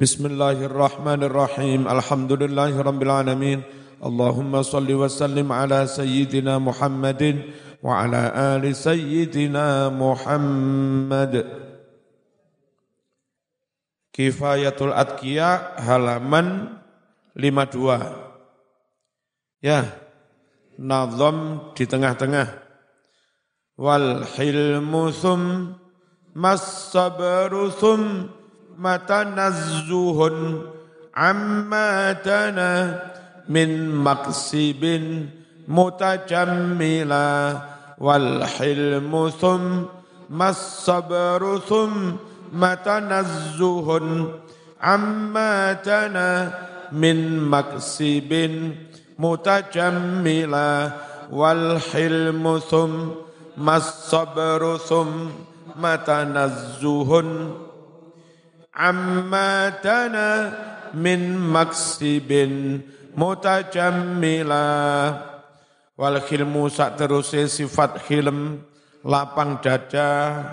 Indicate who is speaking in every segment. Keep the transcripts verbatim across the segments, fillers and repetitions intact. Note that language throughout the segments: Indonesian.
Speaker 1: Bismillahirrahmanirrahim. Alhamdulillahirabbil alamin. Allahumma salli wa sallim ala sayyidina Muhammadin wa ala ali sayyidina Muhammad. Kifayatul Atqiya halaman lima puluh dua. Ya, nazam di tengah-tengah. Wal hilmu thum mas-sabru thum matanazzuhun amma tana min maksibin mutajammila wal hilmu thum mas-sabru thum matanazzuhun amma tana min maksibin mutajammila wal hilmu thum mas-sabru thum matanazzuhun amma tana min maksibin mutajammila wal khilmu sak teruse sifat khilm lapang dada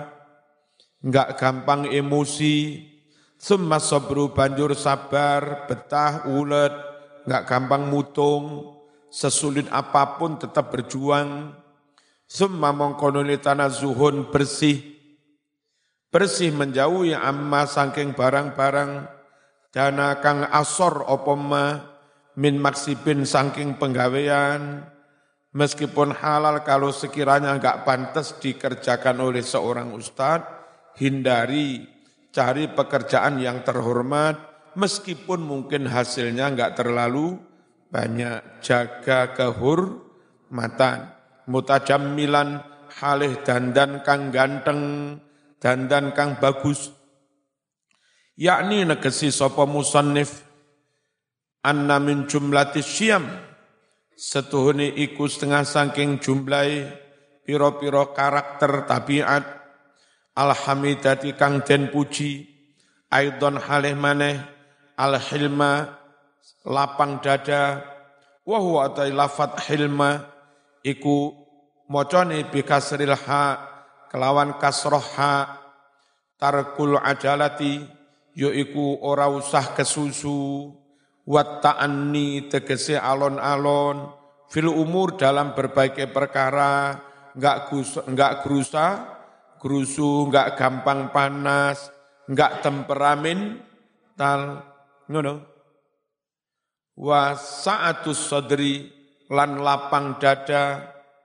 Speaker 1: enggak gampang emosi summa sabru banjur sabar betah ulet enggak gampang mutung sesulit apapun tetap berjuang summa mongkonuli tanazuhun bersih bersih menjauhi amma saking barang-barang dana kang asor opoma min maksibin saking penggawean meskipun halal kalau sekiranya enggak pantas dikerjakan oleh seorang ustadz hindari cari pekerjaan yang terhormat meskipun mungkin hasilnya enggak terlalu banyak jaga kehormatan mutajammilan halih dandan kang ganteng dandan kang bagus yakni negesi sapa musannif anna min jumlatis syam setuhune iku setengah saking jumlahe pira-pira karakter tabiat alhamidati kang den puji aidon halih maneh alhilma lapang dada wa huwa ta lafat hilma iku macane bi kasril ha kelawan kasroh ha tarkul ajalati yaiku ora usah kesusu wat ta'anni tegese alon-alon fil umur dalam berbagai perkara enggak gus enggak gerusa gerusu enggak gampang panas enggak temperamen tal ngono wa sa'atus sadri lan lapang dada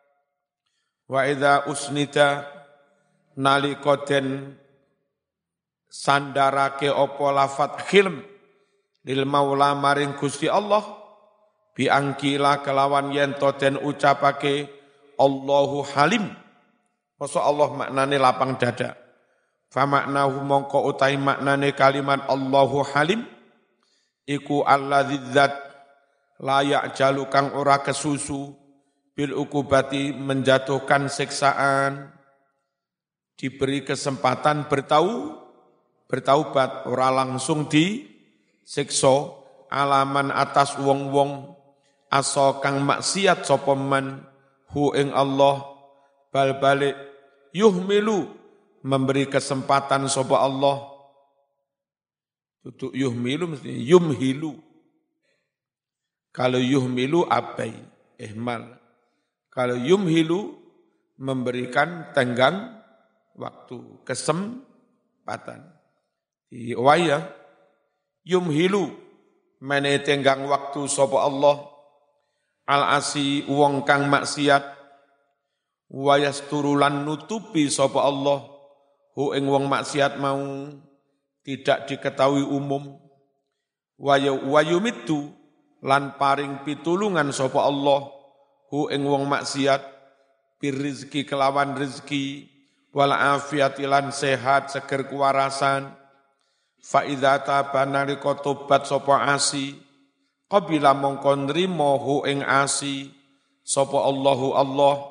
Speaker 1: wa idza usnida nalika den sandarake apa lafat khilm lil maula maring Gusti Allah biangkila kelawan yen to den ucapake Allahu Halim masa Allah maknane lapang dada fa maknahu mongko utahi maknane kalimat Allahu Halim iku alladzi dzat layak jalu kang ora kesusu bil ukubati menjatuhkan siksaan diberi kesempatan bertau, bertaubat, ora langsung disiksa alaman atas wong-wong aso kang maksiat sapa man hu ing Allah bal balik yuhmilu memberi kesempatan sapa Allah tutuk yuhmilu mesti yumhilu kalau yuhmilu abai ihmal kalau yumhilu memberikan tenggang waktu kesempatan di waya yumhilu mene tenggang waktu sapa Allah al asi wong kang maksiat wayasturulan nutupi sapa Allah hu ing wong maksiat mau tidak diketahui umum wayumittu lan paring pitulungan sapa Allah hu ing wong maksiat birizki kelawan rezeki wal afiatilan sehat seger kewarasan fa idza tabana liko tobat sapa asi qabila mongko nrimo hu ing asi sapa Allahu Allah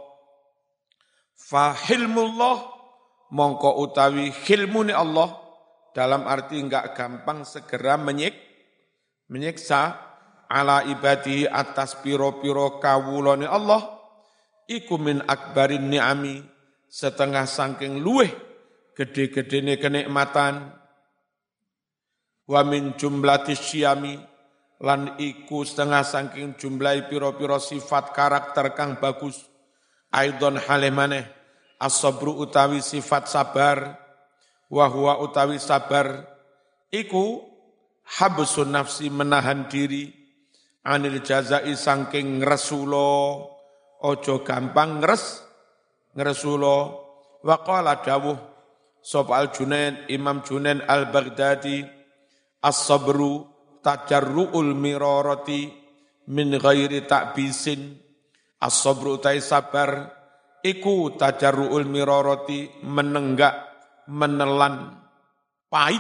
Speaker 1: fa hilmullah mongko utawi hilmune Allah dalam arti enggak gampang segera menyik menyiksa ala ibadi atas piro-piro kawulane Allah iku min akbarin ni'ami setengah saking luweh gede-gedene kenikmatan wa min jumlatis syiyami lan iku setengah saking jumlahi pira-pira sifat karakter kang bagus aidon hale maneh as-sabru utawi sifat sabar wa huwa utawi sabar iku habsun nafsi menahan diri anil jazai saking ngresula aja gampang ngres ngresula wa qala dawuh sapa al-Junaid Imam Junaid al-Baghdadi as-sabru tajarru'ul mirarati min ghairi ta'bisin as-sabru tai sabar iku tajarru'ul mirarati menenggak menelan pahit.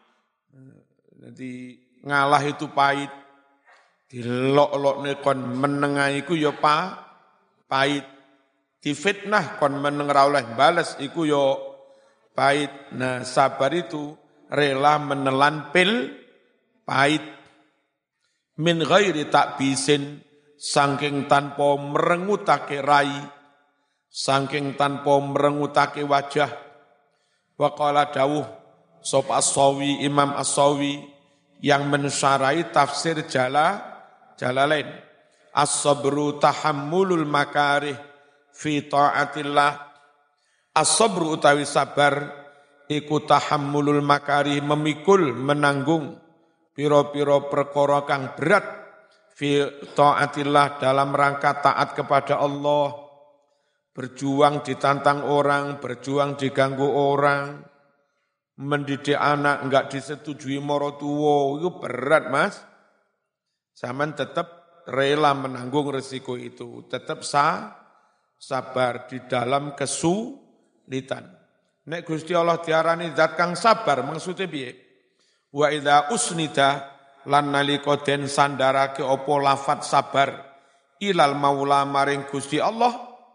Speaker 1: Jadi ngalah itu pahit dilok-lokne kon menengah iku ya pa pahit difitnah kon meneng ra oleh bales iku ya pahit. Nah sabar itu rela menelan pil pahit min ghairi ta'bisin saking tanpa merengutake rai saking tanpa merengutake wajah wa qala dawuh sapa as-Sawi Imam as-Sawi yang mensyarahi tafsir jala Jalalain as-sabru tahammulul makarih fi ta'atillah as-sabru utawi sabar iku tahammulul makarih memikul menanggung piro-piro perkara kang berat fi taatillah dalam rangka taat kepada Allah, berjuang ditantang orang, berjuang diganggu orang, mendidik anak enggak disetujui marotuwo, itu berat Mas. Zaman tetap rela menanggung resiko itu, tetap sah, sabar di dalam kesulitan. Nek Gusti Allah diarani zat kang sabar maksudnya piye? Wa idza usnida lan nalika den sandarake apa lafat sabar ilal maula maring Gusti Allah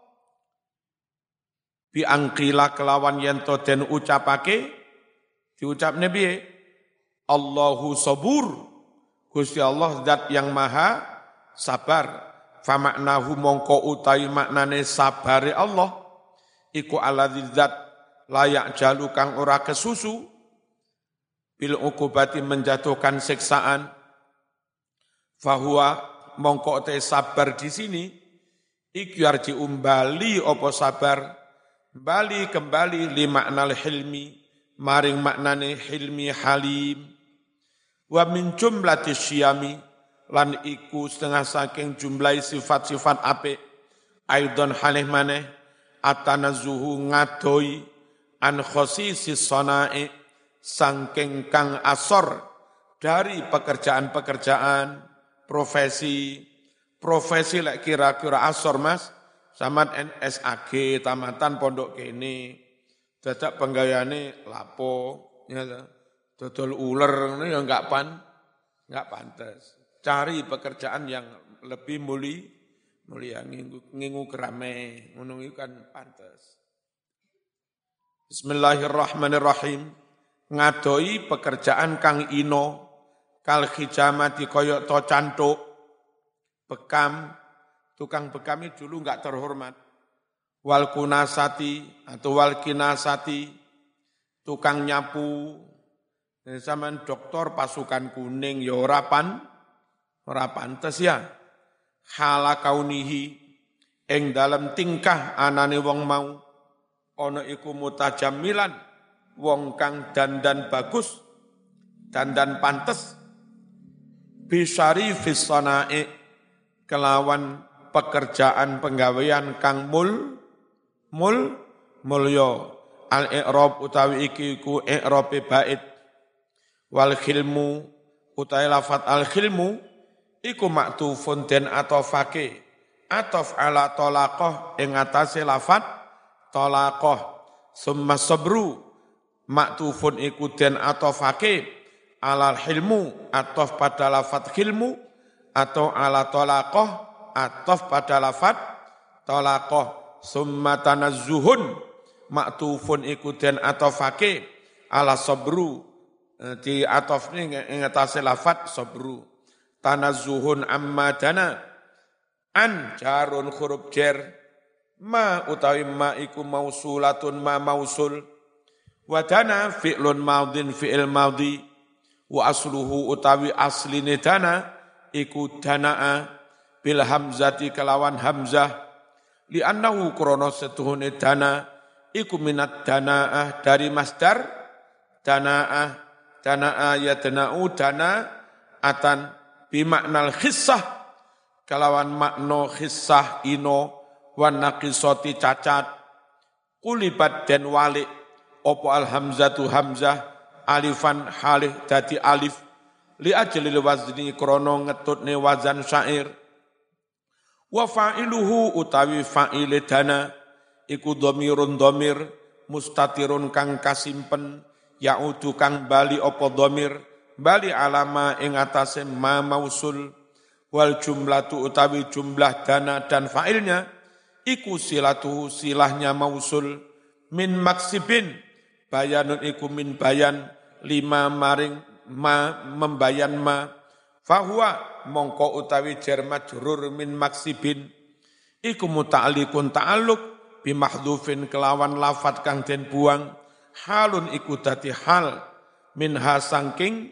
Speaker 1: bi angqila kelawan yen to den ucapake diucapne piye Allahu sabur Gusti Allah zat yang maha sabar fa maknahu mongko utawi maknane sabare Allah iku alladzi zat layak jalu kang ora kesusu bil ukubati menjatuhkan siksaan fahuwa mongko te sabar di sini iki arji umbali apa sabar bali kembali li maknal hilmi maring maknane hilmi halim wa min jumlati syiyami lan iku setengah saking jumlah sifat-sifat apik aidon halih maneh atanazuhu ngadoi an khosisis sana'i sangking kang asor dari pekerjaan-pekerjaan, profesi, profesi lek kira-kira asor Mas, samat N S A G, tamatan pondok kene, dadak penggayane lapo, ya, dodol uler, ini ya enggak pan, enggak pantas. Cari pekerjaan yang lebih muli, mulia ngingu, ngingu kerame, ngono itu kan pantas. Bismillahirrahmanirrahim. Ngadoi pekerjaan kang ino kal khijamati koyok to cantuk bekam tukang bekam itu dulu enggak terhormat wal kunasati atau wal kinasati tukang nyapu zaman doktor pasukan kuning ya ora pan ora pantes ya hala kaunihi ing dalam tingkah anane wong mau ana iku mutajammilan wong kang dandan bagus, dandan pantes, bisyarifis sana'i, kelawan pekerjaan penggawean kang mul, mul, mulyo, al-i'rab utawi iki ku i'rabe bait, wal khilmu utawi lafat al-khilmu, iku maktufun den atofake, atof ala tolaqoh, ing atase lafat tolaqoh, summa sabru, maktufun iku den atofake alal hilmu atof pada lafat hilmu atau ala tolaqoh atof pada lafat tolaqoh summa tanazzuhun maktufun iku den atofake ala sabru di atof ini ngatasi lafat sabru tanazzuhun amma dana an jarun huruf jer ma utawi ma iku mausulatun ma mausul wadana fi'lun maudin fi'il maudi Wa asluhu utawi asline dana iku danaa bil hamzati kelawan hamzah li annahu krana setuhune dana iku minat danaah dari masdar danaah danaah ya danau dana atan bimaknal khissah kelawan makna khissah ino wan naqisati cacat kulibat den walik opo al hamzatu hamzah alifan halih dadi alif li ajlil wazni krana ngetutne wazan syair wa fa'iluhu utawi fa'ile dana iku dhamirun dhamir mustatirun kang kasimpen yaudu kang bali apa dhamir bali alama ing atase ma mausul wal jumlatu utawi jumlah dana dan fa'ilnya iku silatu silahnya mausul min maksibin bayanun iku min bayan lima maring ma membayan ma fahuwa mongko utawi jar majrur min maksibin iku muta'alliqun ta'alluq bi mahdhufin kelawan lafat kang den buang halun iku dadi hal minha sangking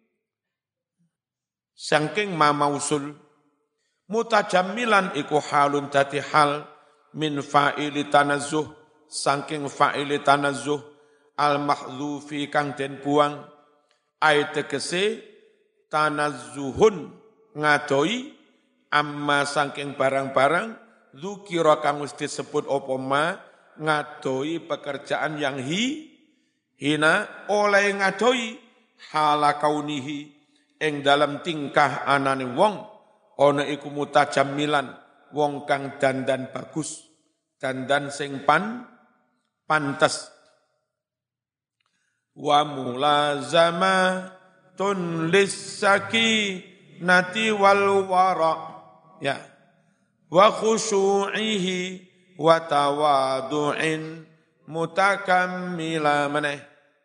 Speaker 1: sangking ma mausul mutajammilan iku halun dadi hal min fa'ili tanazzuh sangking fa'ili tanazzuh al mahdhufi kang den buang ai tegese tanazzuhun ngadoi amma sangking barang-barang dzukira kang wis disebut apa ma ngadoi pekerjaan yang hi hina oleh ngadoi hala kaunihi ing dalam tingkah anane wong ana iku mutajammilan wong kang dandan bagus dandan sing pan pantes wa mulazama tun lisaki nati wal wara ya wa khusyu'ihi wa tawadu'in mutakammila maneh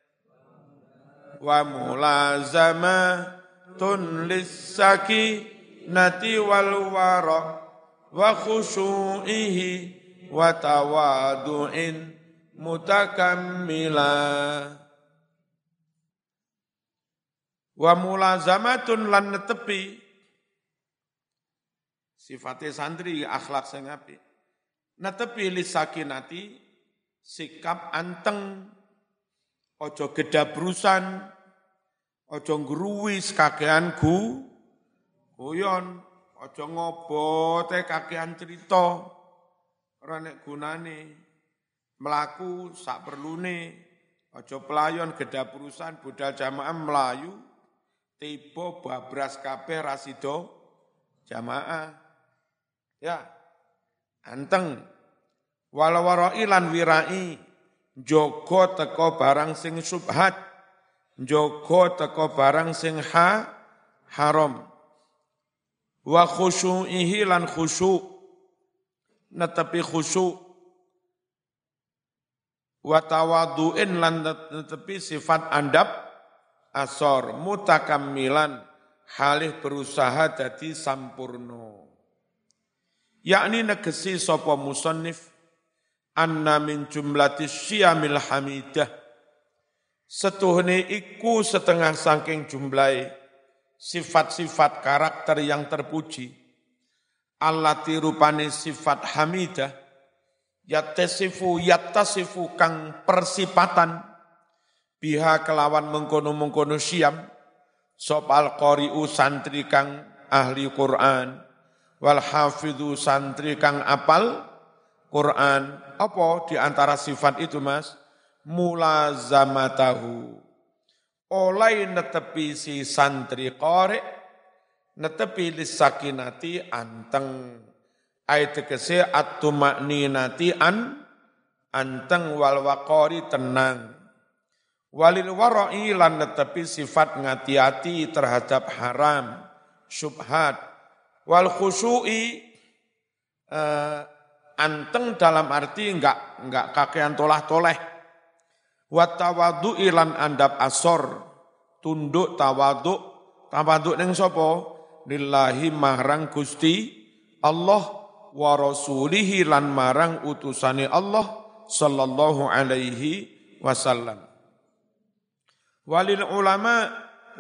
Speaker 1: wa mulazama tun lisaki nati wal wara wa khusyu'ihi wa tawadu'in mutakammila wa mulazamatun lan netepi sifate santri akhlak sing apik netepi lisakinati sikap anteng ojo gedabrusan ojo ngruwis kakean gu guyon ojo ngobote kakean cerita ora nek gunane mlaku sak perlune ojo pelayon gedabrusan budal jamaah melayu tiba babras kabeh rasido jamaah ya anteng walawarai lan wirai njogo teko barang sing subhat njogo teko barang sing ha haram wa khusyu'ihi lan khusyu' netepi khusyu' wa tawadu'in lan netepi sifat andap asor mutakammilan halih berusaha dadi sampurno yakni negesi sapa musannif anna min jumlatis syamil hamidah setuhne iku setengah saking jumlahe sifat-sifat karakter yang terpuji allati rupane sifat hamidah yattasifu yattasifu kang persipatan biha kelawan mengkono-mengkono syam sopal qari'u santri kang ahli Quran wal hafidhu santri kang apal Quran. Apa di antara sifat itu Mas? Mulazamatahu. Oleh netepi si santri qari netepi lisakinati anteng ayat tegese at-tumakninati an anteng wal waqari tenang walil wara'i lan netepi sifat ngati-ati terhadap haram syubhat wal khusyu'i uh, anteng dalam arti enggak enggak kakean tolah-toleh wa tawadhu'i lan andap asor tunduk tawadhu tawadhu ning sapa lillahi marang Gusti Allah wa rasulihi lan marang utusane Allah sallallahu alaihi wasallam walil ulama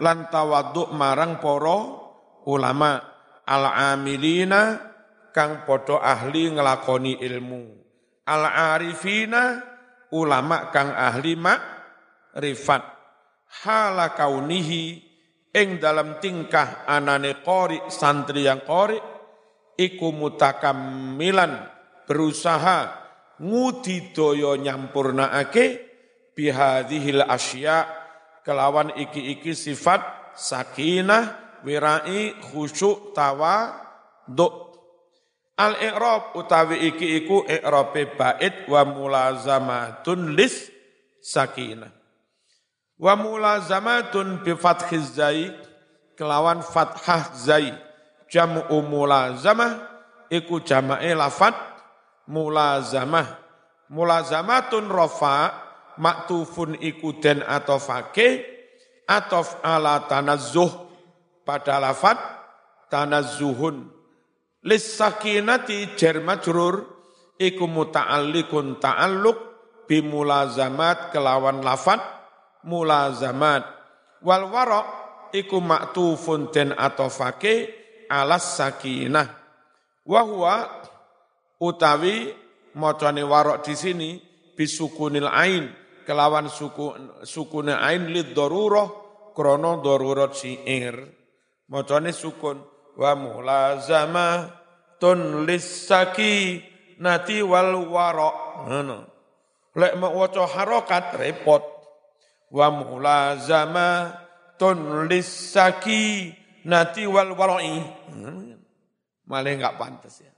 Speaker 1: lan tawadhu marang para ulama al-amilina kang padha ahli nglakoni ilmu, al-arifina ulama kang ahli makrifat, hala kaunihi ing dalam tingkah anane qori santri yang qori iku mutakammilan berusaha ngudidaya nyampurnaake bihadhil asya kelawan iki-iki sifat sakinah wirai khusyuk tawadhu. Al-i'rab utawi iki iku i'rabe bait wa mulazamatun lis sakinah. Wa mulazamatun bi fathiz zai kelawan fathah zai jam'u mulazamah iku jama'e lafat mulazamah. Mulazamatun rafa maktufun iku den atofake atof ala tanazzuh pada lafat tanazzuhun. Lis sakinati jar majrur iku muta'alliqun ta'alluq bi mulazamat kelawan lafat mulazamat. Wal wara' iku maktufun den atofake alas sakinah. Wa huwa utawi macane wara' di sini bisukunil ain kelawan suku sukunil ain lid darurah krana darurat syair. Macane sukun wa mulazamah tun lisaki nati wal wara ngono lek mau waca harokat repot wa mulazamah tun lisaki nati wal wara'i malah enggak pantas ya.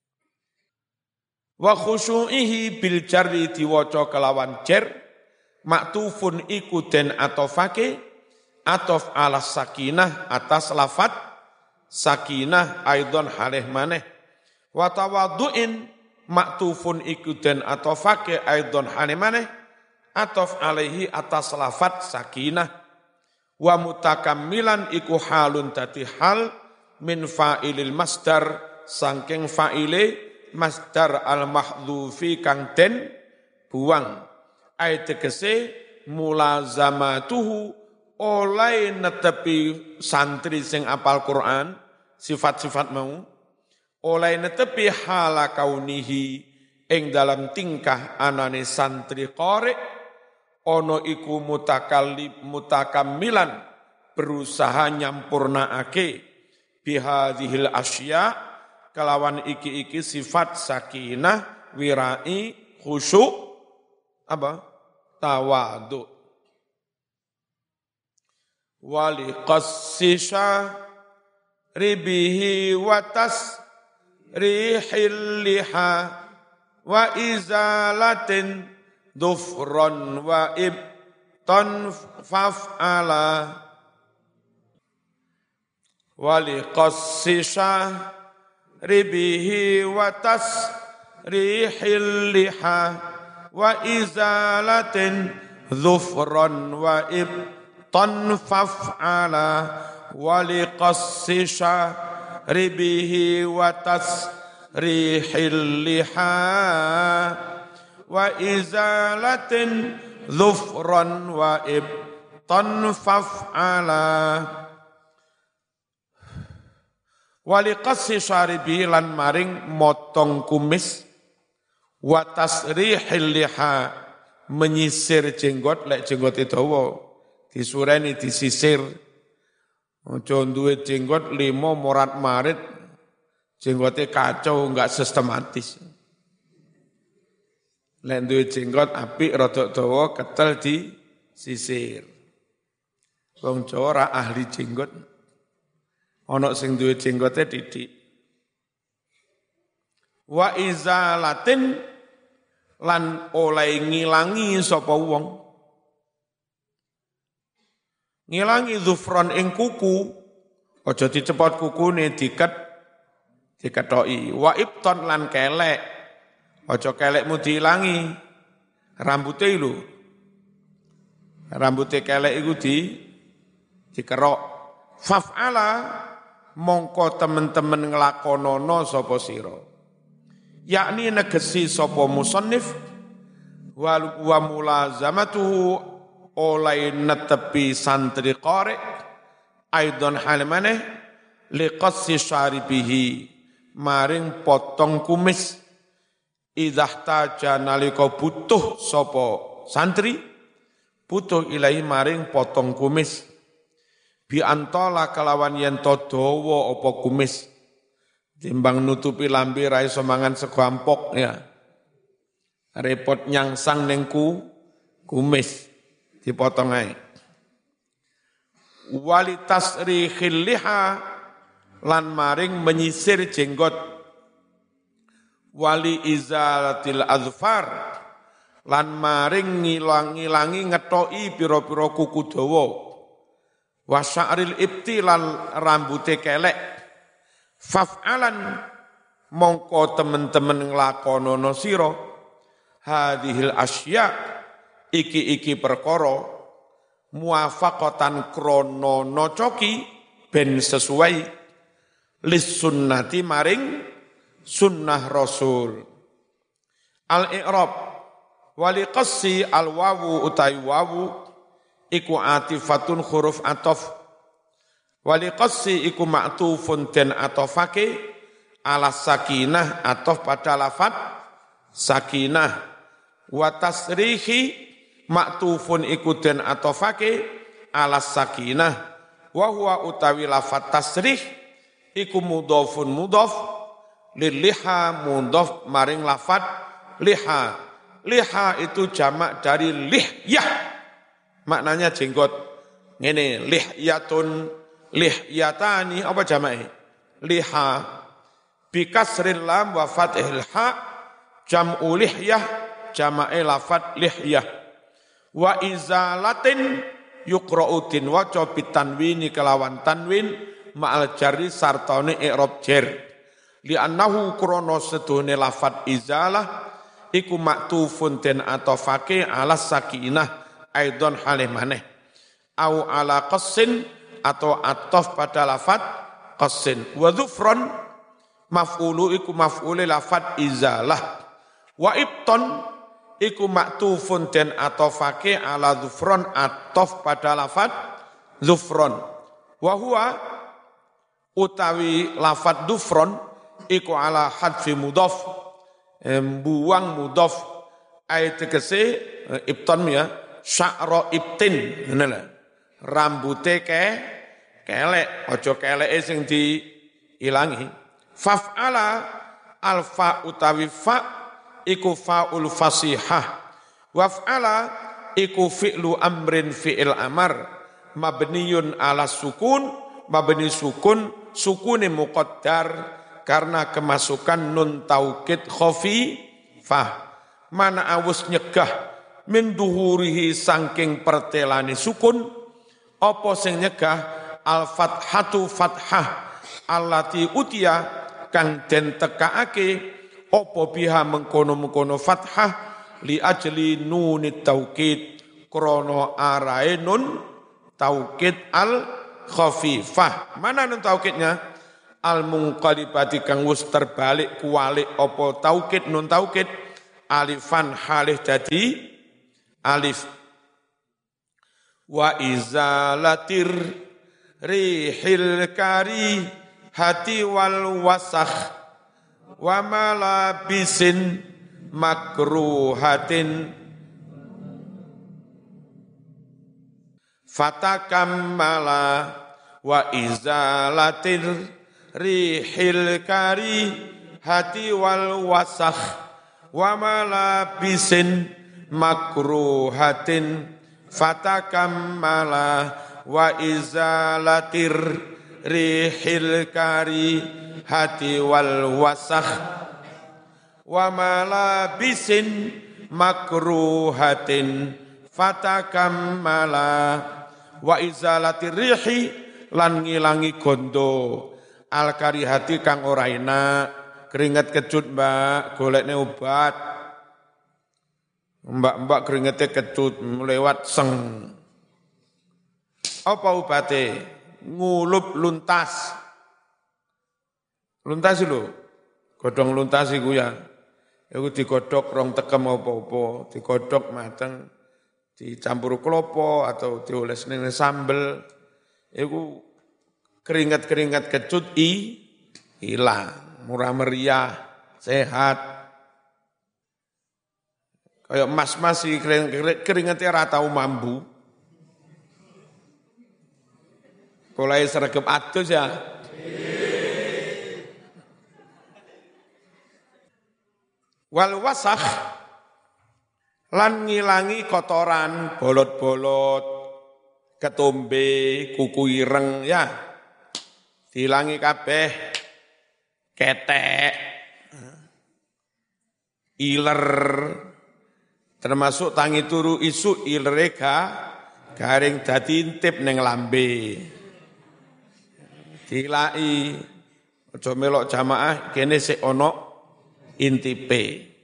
Speaker 1: Wa khusyu'ihi bil jarri diwaca kelawan jar maktufun iku den atofake atof ala sakinah atas lafat sakinah aidon halih maneh wa tawaddu'in maktufun iku den atofake aidon halih maneh atof alaihi atas lafat sakinah wa mutakammilan iku halun dadi hal min fa'ilil masdar saking fa'ile masdar al mahdhufi kang den buang ai tegese mulazamatuhu oleh netepi santri sing apal Quran sifat-sifat mau oleh netepi hala kaunihi ing dalam tingkah anane santri qari ono iku mutakallib mutakammilan berusaha nyampurnaake bihadhil asya kelawan iki-iki sifat sakinah wirai khusyuk apa tawadhu wali qassisha ribihi watas rihil liha wa izalatin dufron wa ibtan faf'ala wali qassisha ribihi watas rihil liha wa izalatin dufron wa ibtan tanfaf ala waliqassi syaribihi wa tasrihil liha wa izalatin dhufran wa ibtanfaf ala waliqassi syaribihi lan maring motong kumis wa tasrihil liha menyisir jenggot lek jenggot dawa disureni disisir aja duwe jenggot limo morat marit jenggote kacau enggak sistematis lek duwe jenggot apik rada dawa ketel disisir wong Jawa ora ahli jenggot ana sing duwe jenggote titik wa izalatin lan oleh ngilangi sapa wong ngilangi zufron ing kuku aja dicepot kukune diket diketoki wa ibton lan kelek aja kelekmu diilangi rambuté lho rambuté kelek iku di dikerok faf'ala mongko temen-temen nglakonono sapa sira yakni negesi sapa musannif wa mulazamatuhu oleh netepi santri qari aidon halimane liqassi syaribihi maring potong kumis idah taja nalika butuh sapa santri butuh ilahi maring potong kumis bi antola kelawan yen to dawa apa kumis timbang nutupi lambe ra iso mangan sego ampok ya repot nyangsang ning ku kumis dipotong ae walitasrihil liha lan maring menyisir jenggot wali izalatil azfar lan maring ngilang-ngilangi ngetoki pira-pira kuku dawa wa sya'ril ibti lan rambute kelek faf'alan mongko temen-temen nglakonono sira hadhil asya iki-iki perkara muwafaqatan krana nocoki ben sesuai lis sunnati maring sunnah rasul al i'rab wali qassi al wawu utai wawu iku atifatun huruf atof wali qassi iku ma'tufun den atofake ala sakinah atof pada lafat sakinah wa tasrihi ma'tufun iku den atofake ala sakinah wa huwa utawi lafat tasrih iku mudhafun mudhaf liliha mudhaf maring lafat liha liha itu jamak dari lihyah maknanya jenggot ngene lihyatun lihyatani apa jamake liha bi kasril lam wa fathil ha jam'u lihyah jamake lafat lihyah wa izalatin yuqra'u tin waca bitanwini kelawan tanwin ma'al jarri sartane i'rab jar li annahu krana sedune lafat izalah iku maktufun den atofake ala sakinah aidon halih maneh au ala qassin atau atof pada lafat qassin wa dhufran maf'ulu iku maf'ul lafat izalah wa ibton iku maktufun den atofake ala dhufran atof pada lafat dhufran wa huwa utawi lafat dhufran iku ala hadfi mudhaf buang mudhaf ayat tegese ibton ya sya'ra ibtin ngene rambute ke kelek aja keleke sing diilangi faf'ala alfa utawi fa iku faul fasihah waf'ala iku fi'lu amrin fi'il amar mabniyun ala sukun mabni sukun sukune muqaddar karena kemasukan nun taukid khafifah mana awus nyegah min duhurihi saking pertelani sukun apa sing nyegah al fathatu fathah allati utia kang den tekaake apa biha mengkono-mengkono fathah li ajli nunit taukid krana arae nun taukid al khafifah mana nun taukidnya al munqalibati kang wis terbalik kuwalik apa taukid nun taukid alifan halih dadi alif wa izalatir rihil kari hati wal wasakh wa malabisin makruhatin fatakammala wa izalatir rihil kari hati wal wasakh wa malabisin makruhatin fatakammala wa izalatir rihil kari hati wal wasakh wa malabisin makruhatin fatakammala wa izalatir rihi lan ngilangi gondo al karihati kang ora enak keringet kecut mbak golekne obat mbak-mbak keringete kecut lewat seng apa obate ngulup luntas luntas lho godhong luntas iku ya iku digodhog rong tekem apa-apa digodhog mateng dicampur klopo atau dioles ning sambel iku keringat-keringat kecut i hilang, murah meriah, sehat. Kayak mas-mas sih keringatnya rata mambu. Mulai sergap atus ya. Wal wasakh lan ngilangi kotoran, bolot-bolot, ketombe, kuku ireng ya. Dilangi kabeh, ketek, iler, termasuk tangi turu isu ilerega garing dadi intip ning lambe. Dilai aja melok jamaah kene sik ana intipe.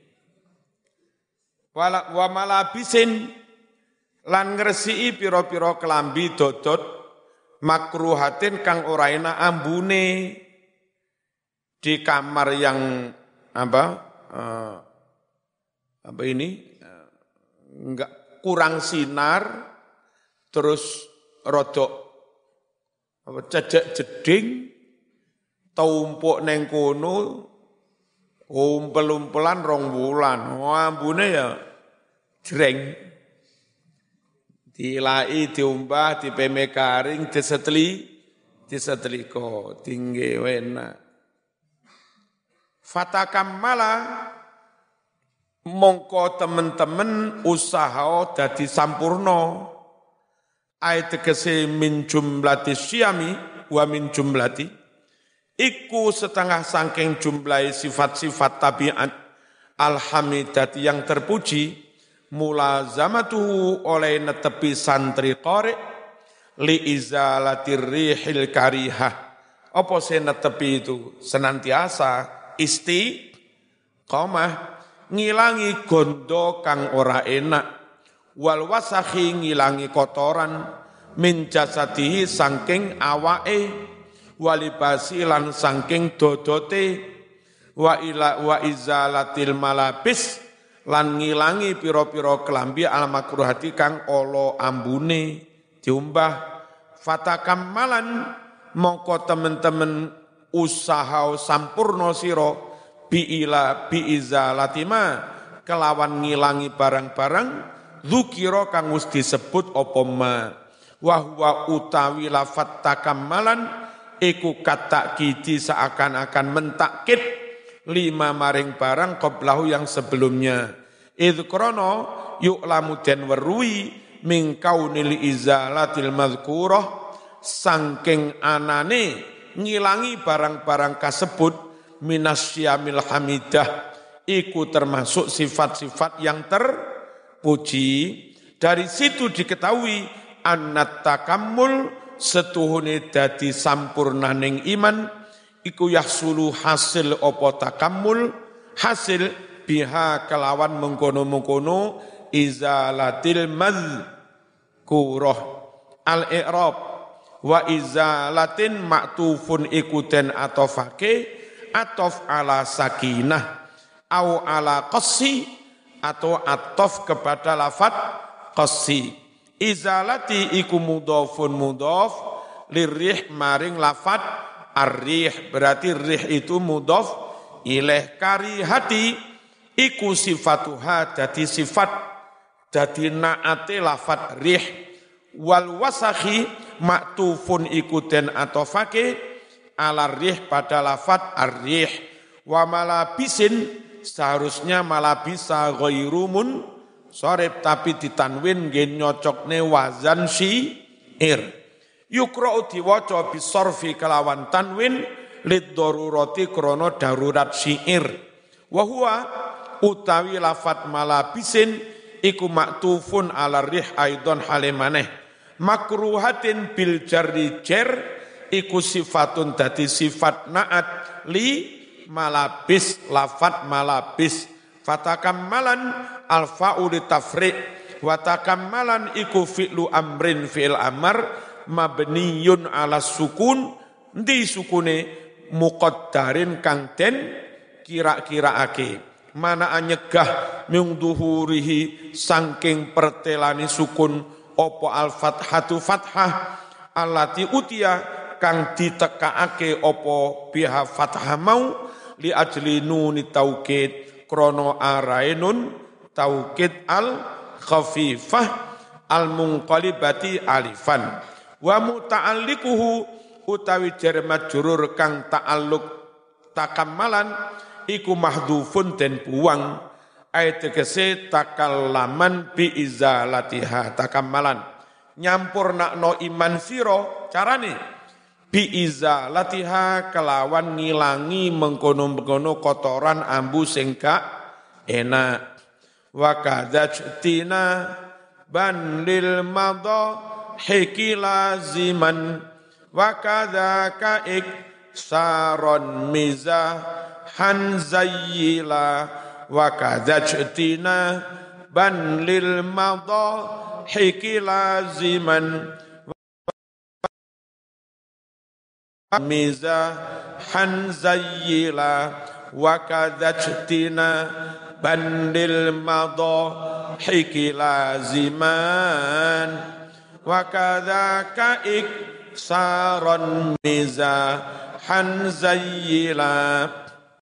Speaker 1: Wala wa malabisin lan ngresiki pira-pira kelambi dodot makruhatin kang ora enak ambune di kamar yang apa uh, apa ini uh, enggak kurang sinar terus rodok apa cecek jeding tumpuk neng kono umpel-umpelan rong wulan ambune ya jreng dilai diumbah dipeme garing diseteli diseteliko tinggi wena fatakammala mongko temen-temen usaha dadi sampurna ayat tegese min jumlati syami wa min jumlati iku setengah sangking jumlah sifat-sifat tabiat alhamidati yang terpuji mulazamatuhu oleh netepi santri qari li izalatir rihil karihah apa se netepi itu senantiasa istiqomah ngilangi gondo kang ora enak wal wasakhi ngilangi kotoran min jasadihi saking awake walibasi lan saking dodote wa ila wa izalatil malabis lan ngilangi pira-pira kelambi al makruhati kang ala ambune diumbah fatakammalan mongko temen-temen usaha sampurna sira bi ila bi izalatima kelawan ngilangi barang-barang dzukira kang wis disebut apa ma wa huwa utawi lafat takammalan iku katakidi seakan-akan mentakkid lima maring barang qablahu yang sebelumnya idh krana yu'lamu den weruhi min kaunil izalatil madhkurah saking anane ngilangi barang-barang kasebut minasyamil hamidah iku termasuk sifat-sifat yang terpuji. Dari situ diketahui annat takammul setuhune dadi sampurnaning iman iku yahsulu hasil apa takammul hasil biha kelawan mengkono-mengkono izalatil madhkurah al-i'rab wa izalatin maktufun ikuten atofake atof ala sakinah au ala qassi atau atof kepada lafat qassi izalati iku mudhafun mudhaf lirrih maring lafat ar-rih berarti rih itu mudhaf ilaih karihati iku sifatuha dadi sifat dadi naate lafat rih wal wasakhi maktufun ikuten atofake ala rih pada lafat ar-rih wa malabisin seharusnya malabisa ghairumun sorib tapi ditanwin nggih nyocokne wazan syi'ir yukra'u diwaca bisorfi kelawan tanwin lid darurati krana darurat syi'ir wa huwa utawi lafat malabisin iku maktufun ala rih aidon halemaneh makruhatin bil jarri jar iku sifatun dadi sifat naat li malabis lafat malabis fatakammalan alfa'u li tafriq wa takammalan iku fi'lu amrin fi'il amar mabniyun ala sukun di sukune muqaddarin kang den kira-kiraake mana anyegah mung duhurihi saking pertelani sukun opo al fathatu fathah allati utia kang ditekaake opo biha fathah mau li ajli nuni taukid krono arainun taukid al khafifah al munqalibati alifan wa muta'alliquhu utawi jar majrur kang ta'alluq takammalan iku mahdhufun den buang ayat tegese takallaman bi izalatiha takammalan nyampurnakno iman sira carane bi izalatiha kelawan ngilangi mengkono-mengkono kotoran ambu sing gak enak wa kadzajtina banlil madha hiki laziman wa kadzaka ik saron mizah han zayyila wa kadzajtina banlil madha hiki laziman mizah han zayyila wa kadzajtina bandil madha hiki laziman wa kadzaka ik saron mizah han zayyila